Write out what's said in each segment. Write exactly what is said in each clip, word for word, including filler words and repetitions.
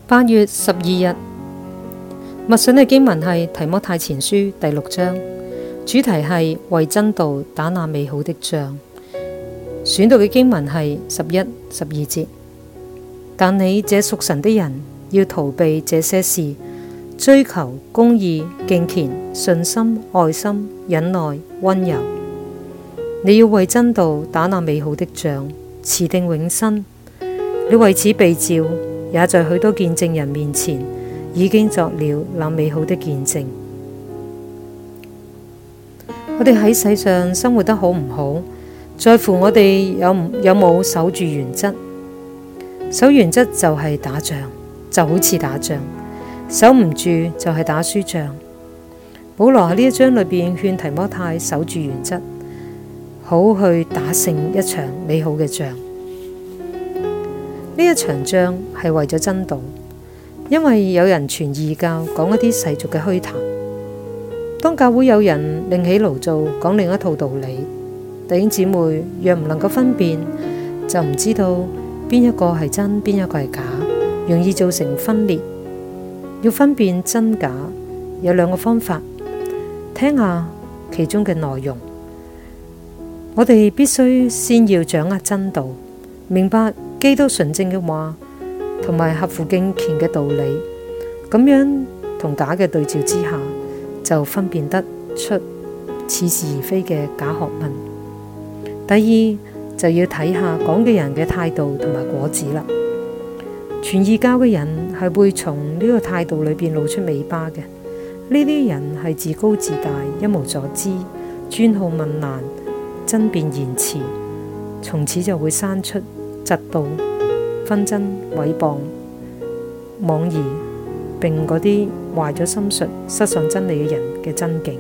八月十二日，默想嘅經文係提摩太前書第六章，主題係為真道打那美好的仗。選讀嘅經文係十一、十二節。但你這屬神的人，要逃避這些事，追求公義、敬虔、信心、愛心、忍耐、溫柔。你要為真道打那美好的仗，持定永生。你為此被召，也在許多見證人面前已經作了那美好的見證。我哋喺世上生活得好唔好，在乎我哋有有冇守住原則。守原則就係打仗，就好似打仗；守唔住就係打輸仗。保羅喺呢一章裏邊勸提摩太守住原則，好去打勝一場美好嘅仗。呢一場仗係為咗真道，因為有人傳異教，講一啲世俗嘅虛談。當教會有人另起爐灶，講另一套道理，弟兄姊妹若唔能夠分辨，就唔知道邊一個係真，邊一個係假，容易造成分裂。要分辨真假，有兩個方法，聽下其中嘅內容。我哋必須先要掌握真道，明白基督純正嘅話，同埋合乎敬虔嘅道理，咁樣同假嘅對照之下，就分辨得出似是而非嘅假學問。第二就要睇下講嘅人嘅態度同埋果子啦。傳異教嘅人係會從呢個態度裏邊露出尾巴嘅，呢啲人係自高自大、一無所知、專好問難、爭辯言辭，從此就會生出嫉妒、紛爭、毀謗、妄疑，並嗰啲壞咗心術、失喪真理嘅人嘅爭競。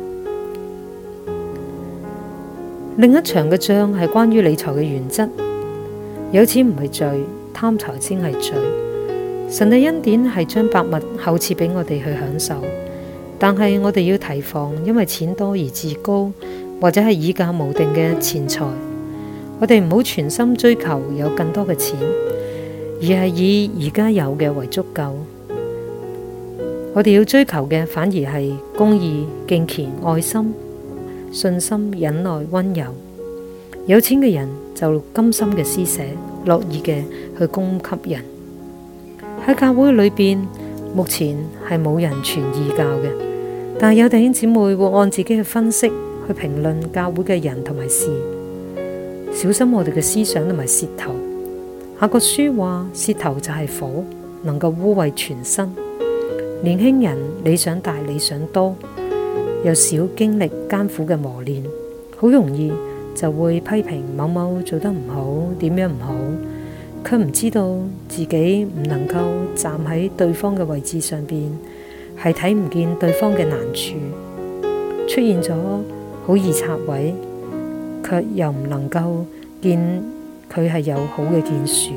另一場嘅仗係關於理財嘅原則。有錢唔係罪，貪財先係罪。神嘅恩典係將百物厚賜俾我哋去享受，但係我哋要提防，因為錢多而自高，或者係以價無定嘅錢財。我哋唔好全心追求有更多嘅錢，而係以而家有嘅為足夠。我哋要追求嘅反而係公義、敬虔、愛心、信心、忍耐、溫柔。有錢嘅人就甘心嘅施捨，樂意嘅去供給人。喺教會裏邊，目前係冇人傳異教嘅，但係有弟兄姊妹會按自己嘅分析去評論教會嘅人同埋事。小心我哋嘅思想同埋舌頭。雅各書話，舌頭就係火，能夠污穢全身。年輕人理想大，理想多，又少經歷艱苦嘅磨練，好容易就會批評某某做得唔好，點樣唔好，卻唔知道自己唔能夠站喺對方嘅位置上邊，係睇唔見對方嘅難處，出現咗好易拆毀，卻又唔能夠見佢係有好嘅建樹。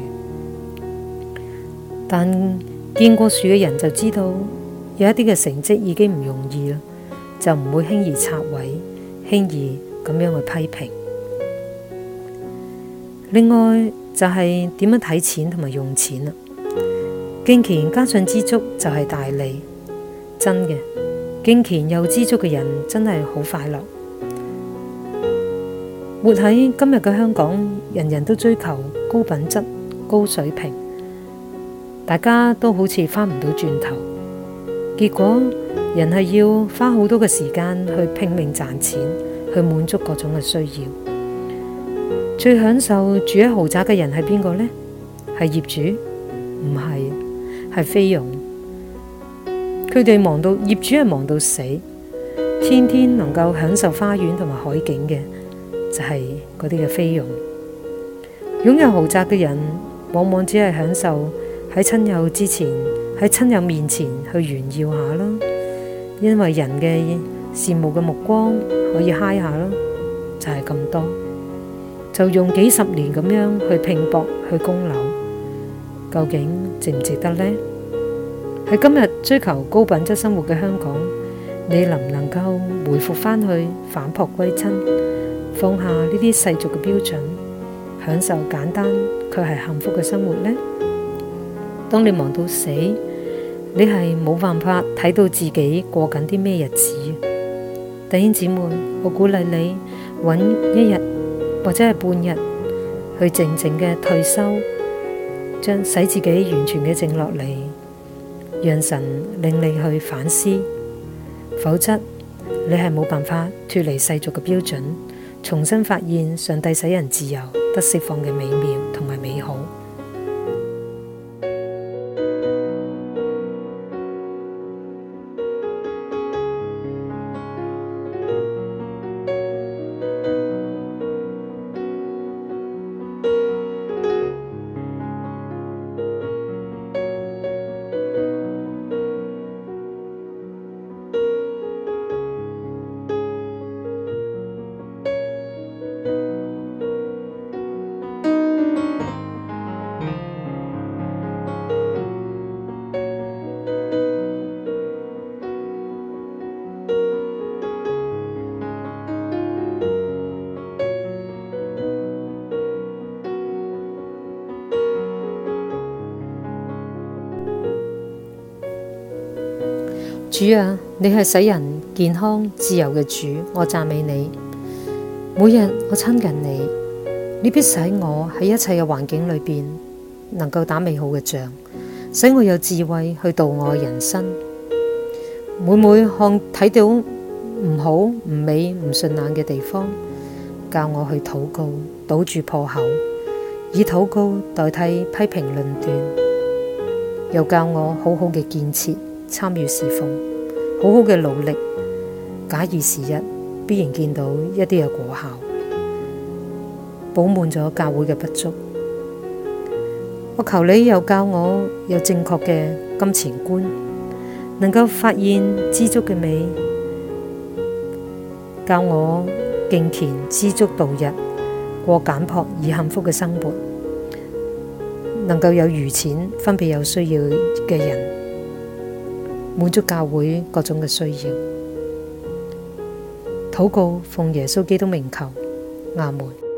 但見過樹嘅人就知道，有一啲嘅成績已經唔容易啦，就唔會輕易拆毀，輕易咁樣去批評。另外就係點樣睇錢同埋用錢啦。敬虔加上知足就係大利，真嘅敬虔又知足嘅人真係好快樂。活喺今日嘅香港，人人都追求高品質、高水平，大家都好似翻唔到轉頭。結果人係要花好多嘅時間去拼命賺錢，去滿足各種嘅需要。最享受住喺豪宅嘅人係邊個呢？係業主？唔係，係菲傭。佢哋忙到，業主係忙到死，天天能夠享受花園同埋海景嘅，就係嗰啲嘅菲傭。擁有豪宅嘅人，往往只係享受喺親友之前，喺親友面前去炫耀下啦，因為人嘅羨慕嘅目光可以嗨下啦，就係咁多。就用幾十年咁樣去拼搏去供樓，究竟值唔值得呢？喺今日追求高品質生活嘅香港，你能唔能夠回復返去返璞歸真，放下呢啲世俗嘅標準，享受簡單卻係幸福嘅生活呢？ 當你忙到死，你係冇辦法睇到自己過緊啲咩日子。弟兄姊妹，我鼓勵你揾一日或者係半日去靜靜嘅退休，將使自己完全嘅靜落嚟，讓神令你去反思。否則你係冇辦法脫離世俗嘅標準，重新發現上帝使人自由得釋放嘅美妙同埋美好。主啊，你係使人健康自由嘅主，我讚美你。每日我親近你，你必使我喺一切嘅環境裏邊能夠打美好嘅仗，使我有智慧去度我嘅人生。每每看睇到唔好、唔美、唔順眼嘅地方，教我去禱告，堵住破口，以禱告代替批評論斷，又教我好好嘅建設參與侍奉，好好嘅努力，假以時日，必然見到一啲嘅果效，補滿咗教會嘅不足。我求你又教我有正確嘅金錢觀，能夠發現知足嘅美，教我敬虔知足度日，過簡樸而幸福嘅生活，能夠有餘錢分俾有需要嘅人，滿足教會各種嘅需要。禱告奉耶穌基督名求，阿門。